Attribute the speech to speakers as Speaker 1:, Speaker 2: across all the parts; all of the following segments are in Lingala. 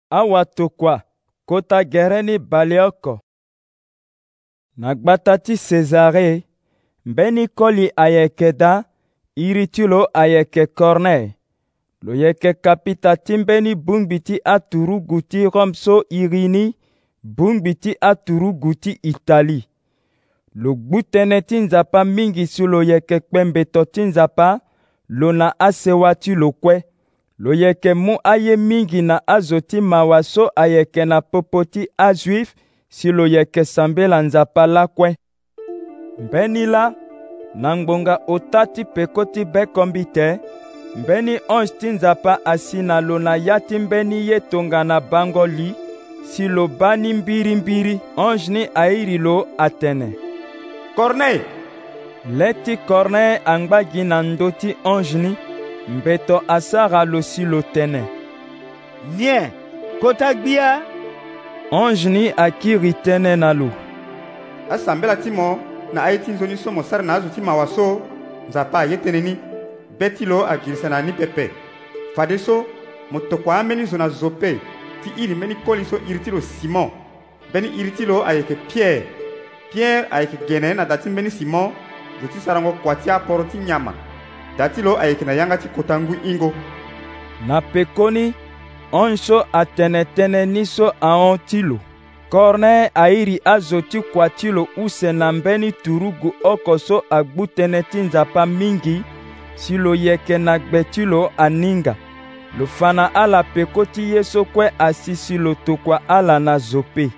Speaker 1: awa tokua kota gereni balioko. Nagbata ti Cesare, mbeni koli ayekeda, iritulo ayeke Corneille. Lo yeke kapita ti mbeni bungbi ti aturugu ti Rome so irini, bungbi ti aturugu ti Itali. Lo gbu tënë ti nzapa mingi si lo yeke kpe mbeto ti nzapa, lo na asewa ti lo kue. Lo yeke mu aye mingi na azo ti mawa so ayeke na popo ti azuif si lo yeke sambela nzapa lakue. Mbeni la, na ngbonga ota ti peko ti bekombi te, mbeni ange ti nzapa asi na lo na ya ti mbeni ye tongana bango li, si lo ba ni mbiri-mbiri, ange ni airi lo atene.
Speaker 2: Corneille!
Speaker 1: Le ti Corneille angba gi na ndo ti ange ni, mbeto asara lo si lo tene.
Speaker 2: Nien, kota gbia?
Speaker 1: Ange ni akiri tënë na lo.
Speaker 3: Asambela ti mo na aye ti nzoni so mo sara na azo ti mawa so nzapa aye tënë ni be ti lo agirisa na ni pepe. Fade so mo tokua ambeni zo na Zope ti iri mbeni koli so iri ti lo Simon. Mbeni iri ti lo ayeke Pierre. Pierre ayeke gene na da ti mbeni Simon zo ti sarango kua ti aporo ti nyama. Da ti lo ayeke na yanga ti kota ngwi hingo.
Speaker 1: Na peko ni, ange so atene tënë ni so ahon ti lo. Corneille airi azo ti kua ti lo use na mbeni turugu oko so agbu tënë ti nzapa mingi, si lo yeke na gbe ti lo aninga. Lo fana ala peko ti ye so kue asi si lo tokua ala na Zope.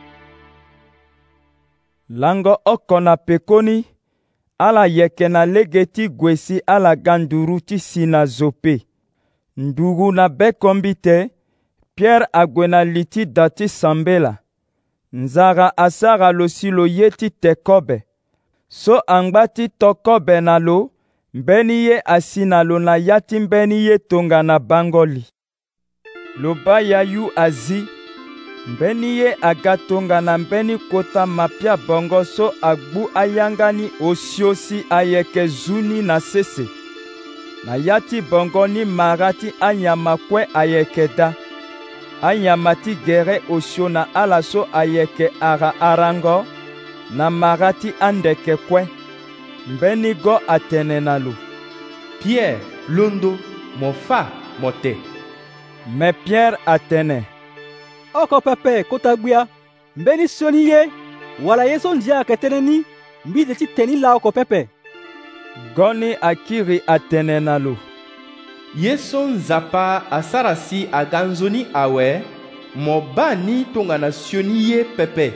Speaker 1: Lango oko na peko ni, ala yeke na lege ti gue si ala ga nduru ti si na Zope. Ndugu na bekombi te, Pierre ague na li ti da ti sambela. Nzara asara lo si lo ye ti tekobe. So angba ti tokobe na lo, mbeni ye asi na lo na ya ti mbeni ye tongana bango li. Lo ba yayu azi, mbeni ye aga tongana mbeni kota mapia bongo so agbu ayangani osio si ayeke zuni na sese. Na ya ti bongo ni mara ti anyama kue ayeke da. Anyama ti gere osio na ala so ayeke ara arango, na mara ti andeke kue. Mbeni go atene na lo.
Speaker 4: Pierre, londo, mo fa, mo te.
Speaker 1: Me Pierre atene.
Speaker 5: Oko pepe kota gbia, mbeni soni ye, wala ye so ndia ayeke tënë ni, mbi ti teni la oko pepe.
Speaker 1: Goni akiri atene na lo.
Speaker 4: Ye so nzapa asara si aga nzoni awe, mo ba ni tongana sioni ye pepe.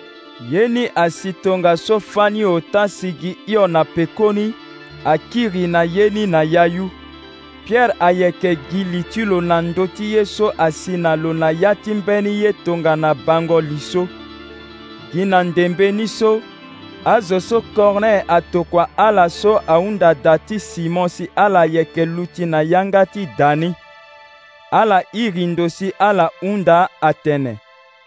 Speaker 1: Ye ni asi tonga so fani ota sigi io na peko ni, akiri na ye ni na yayu. Pierre ayeke gili ti lo na ndo ti ye so asi na lo na ya ti mbeni ye tongana bango li so. Gi na ndembe ni so, azo so Corneille atokua ala so ahunda da ti Simon si ala yeke luti na yanga ti dani. Ala iri ndo si ala hunda atene.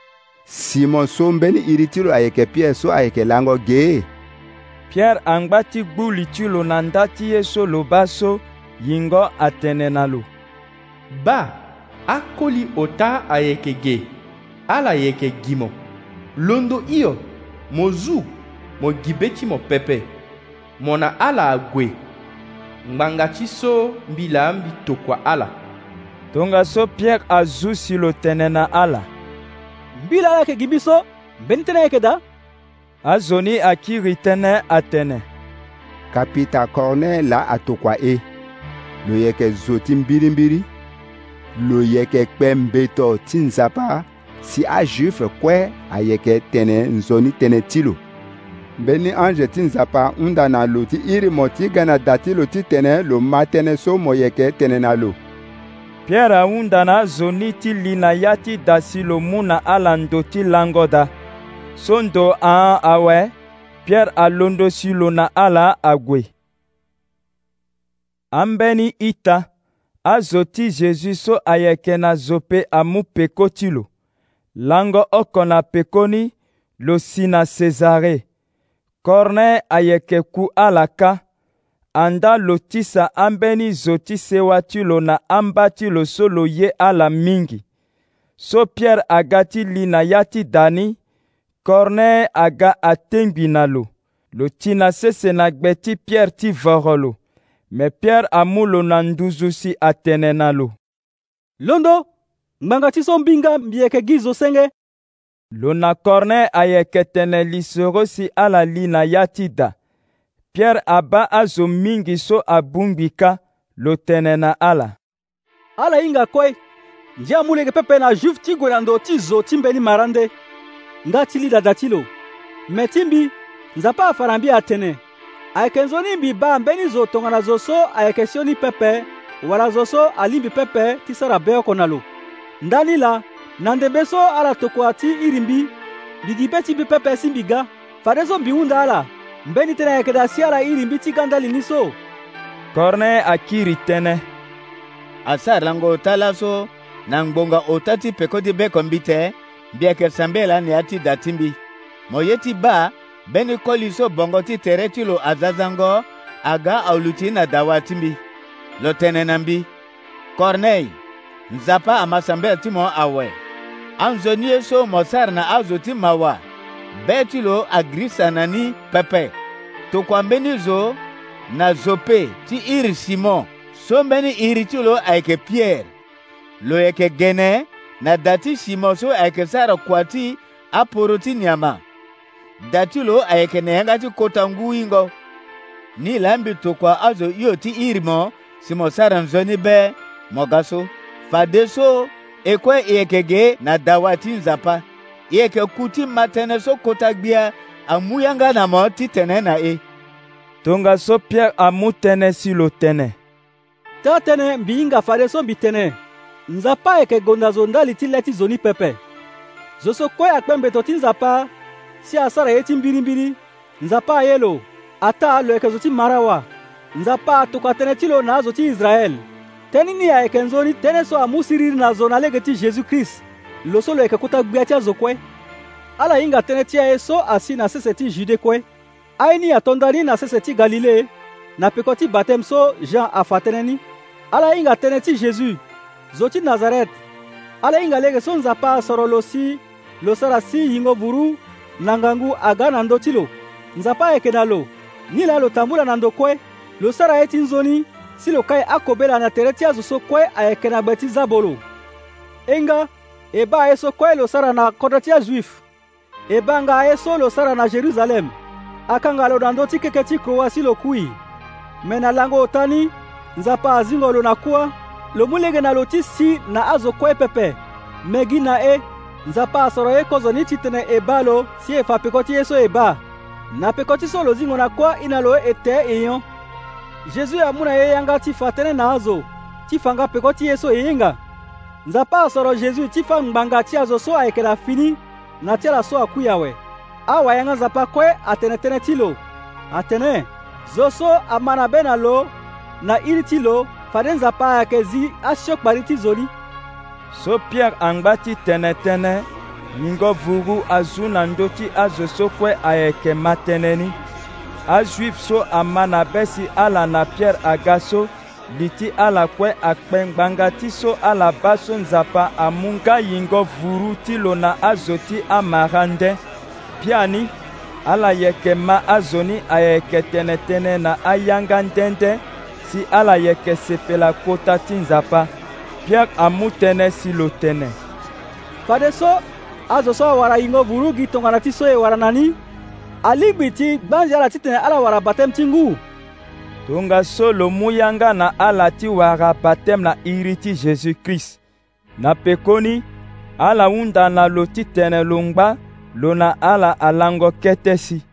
Speaker 6: Simon so mbeni iri ti lo ayeke Pierre so ayeke lango ge.
Speaker 1: Pierre angba ti gbu li ti lo na nda ti ye so lo ba so, yingo atene na lo.
Speaker 4: Ba, akoli ota ayeke ge, ala yeke gi mo. Londo iyo, mo zu, mo gi be ti mo pepe. Mo na ala ague. Ngbanga ti so mbila mbi tokua ala.
Speaker 1: Tonga so Pierre azu si lo tene na ala.
Speaker 5: Mbila ala yeke gi biso, mbeni tënë ayeke da?
Speaker 1: Azo ni akiri tënë atene.
Speaker 6: Kapita Corneille la atokua e. Lo yeke zo ti mbiri-mbiri. Lo yeke kpe mbeto ti nzapa si ajuif kue ayeke tene nzoni tënë ti lo. Mbeni ange ti nzapa hunda na lo ti iri mo ti ga na da ti lo ti tene lo ma tënë so mo yeke tene na lo.
Speaker 1: Pierre ahunda na azo ni ti li na ya ti da si lo mu na ala ndo ti lango da. So ndo ahon awe, Pierre alondo si lo na ala ague. Ambeni ita, azo ti Jésus so ayeke na Zope amu peko ti lo. Lango oko na peko ni, lo si na Cesare. Corneille ayeke ku ala ka. Anda lo ti sa ambeni zo ti sewa ti lo na amba ti lo so lo ye ala mingi. so Pierre aga ti li na ya ti dani, Corneille aga atengbi na lo. Lo ti na sese na gbe ti Pierre ti voro lo. Me Pierre amu lo na nduzu si atene na lo.
Speaker 5: Londo, ngbanga ti so mbinga mbieke gi zo senge.
Speaker 1: Lo na Corneille ayeke tene li soro si ala li na ya ti da. Pierre aba azo mingi so abumbika lo tene na ala.
Speaker 5: Ala hinga koi, nji amuleke pepe na juif ti gue na ndo ti zo ti mbeni marande. Nga ti li dada ti lo. Me ti mbi, nzapa afara mbi atene. Ayeke nzoni mbi ba mbeni zo tongana zo so ayeke sioni pepe, wala zo so alimbi pepe ti sara beoko na lo. Ndani la, na ndembe so ala tokua ti iri mbi, bigi be ti mbi pepe si mbi ga. Fade so mbi hunda ala, mbeni tene ayeke da si ala iri mbi ti ga ndali ni so.
Speaker 1: Corneille akiri tënë.
Speaker 2: Asara lango otala so na ngbonga ota ti peko ti beko mbi te, mbi ayeke sambe la ni ati da ti mbi. Mo ye ti ba, beni koli so bongo ti tere ti lo azazango, aga aulu ti na dawa ti mbi. Lo tene na mbi. Corneille, nzapa ama sambe ti mo awe. Anzoni ye so mo sara na azo ti mawa. Be ti lo agrisa na ni pepe. Tokua mbeni zo na Zope ti iri Simon. So mbeni iri ti lo ayeke Pierre. Lo yeke gene na dati Simon so ayeke sara kua ti aporo ti niama. Dati lo ayeke na yanga ti kota ngu hingo. Ni la mbi tokua azo iyo ti iri mo si mo sara nzoni be mo ga so. Fade so ekue yeke ge na dawa ti nzapa. Yeke ku ti matene so kota gbia amu yanga na mo ti tene na e.
Speaker 1: Tonga so Pierre amu tene si lo tene.
Speaker 5: Ta tene mbi hinga fade so mbi tene. Nzapa ayeke gonda zo ndali ti le ti zo ni pepe. Zo so kue akpe mbeto ti nzapa si asara ye ti mbirimbiri. Nzapa aye lo, ata lo yeke zo ti marawa. Nzapa atokua tënë ti lo na azo ti Israel. Tëni ni ayeke nzoni tënë so amu siriri na zo na lege ti Jésus-Christ. Lo so lo yeke kota gbia ti azo kue. Ala hinga tënë ti aye so asi na sese ti Jude kue. Aye ni atondani na sese ti Galilée, na peko ti batem so Jean afa tënë ni. Ala hinga tënë ti Jésus, zo ti Nazaret. Ala hinga lege so nzapa asoro lo si lo sara si hingo buru na ngangu aga na ndö ti lo. Nzapa ayeke na lo, ni la lo tambula na ndo kue. Lo sara ye ti nzoni si lo kai akobela na tere ti azo so kue ayeke na gbe ti zabolo. Enga, e ba aye so kue lo sara na kota ti ajuif. E ba nga aye so lo sara na Jerusalem. Akanga lo na ndö ti keke ti kroa si lo kui. Me na lango otani, nzapa azingo lo na kua, lo mu lege na lo ti si na azo kue pepe. Me gi na e, nzapa asoro ye kozo ni ti tene e ba lo si e fa peko ti ye so e ba. Na peko ti so lo zingo na kua ina lo e te e yon. Jésus amu na ye yanga ti fa tënë na azo, ti fanga peko ti ye so e yenga. Nzapa asoro Jésus ti fa ngbanga ti azo so ayeke na fini, na ti ala so akui awe. Awa yanga nzapa kue atene tënë ti lo. Atene, zo so ama na be na lo, na iri ti lo, fade nzapa ayeke zi asiokpari ti zo ni.
Speaker 1: So Pierre angba ti tene, ningo vuru azu na ndö ti azo so kue ayeke ma tënë ni. Ajuif so ama na be si ala na Pierre aga so, li ti ala kue akpe ngbanga ti so ala ba so nzapa amu nga yingo vuru ti lo na azo ti amara nde. Bia ni, ala yeke ma azo ni ayeke tene na ayanga ndende si ala yeke sepela kota ti nzapa. Pierre amu tënë si lo tene.
Speaker 5: Fade so azo so awara yingo vuru gi tongana ti so e wara na ni. Alingbi ti gbanzi ala ti tene ala wara batem ti ngu.
Speaker 1: Tonga so lo mu yanga na ala ti wara batem na iri ti Jésus-Christ. Na peko ni, ala hunda na lo ti tene lo ngba lo na ala alango kete si.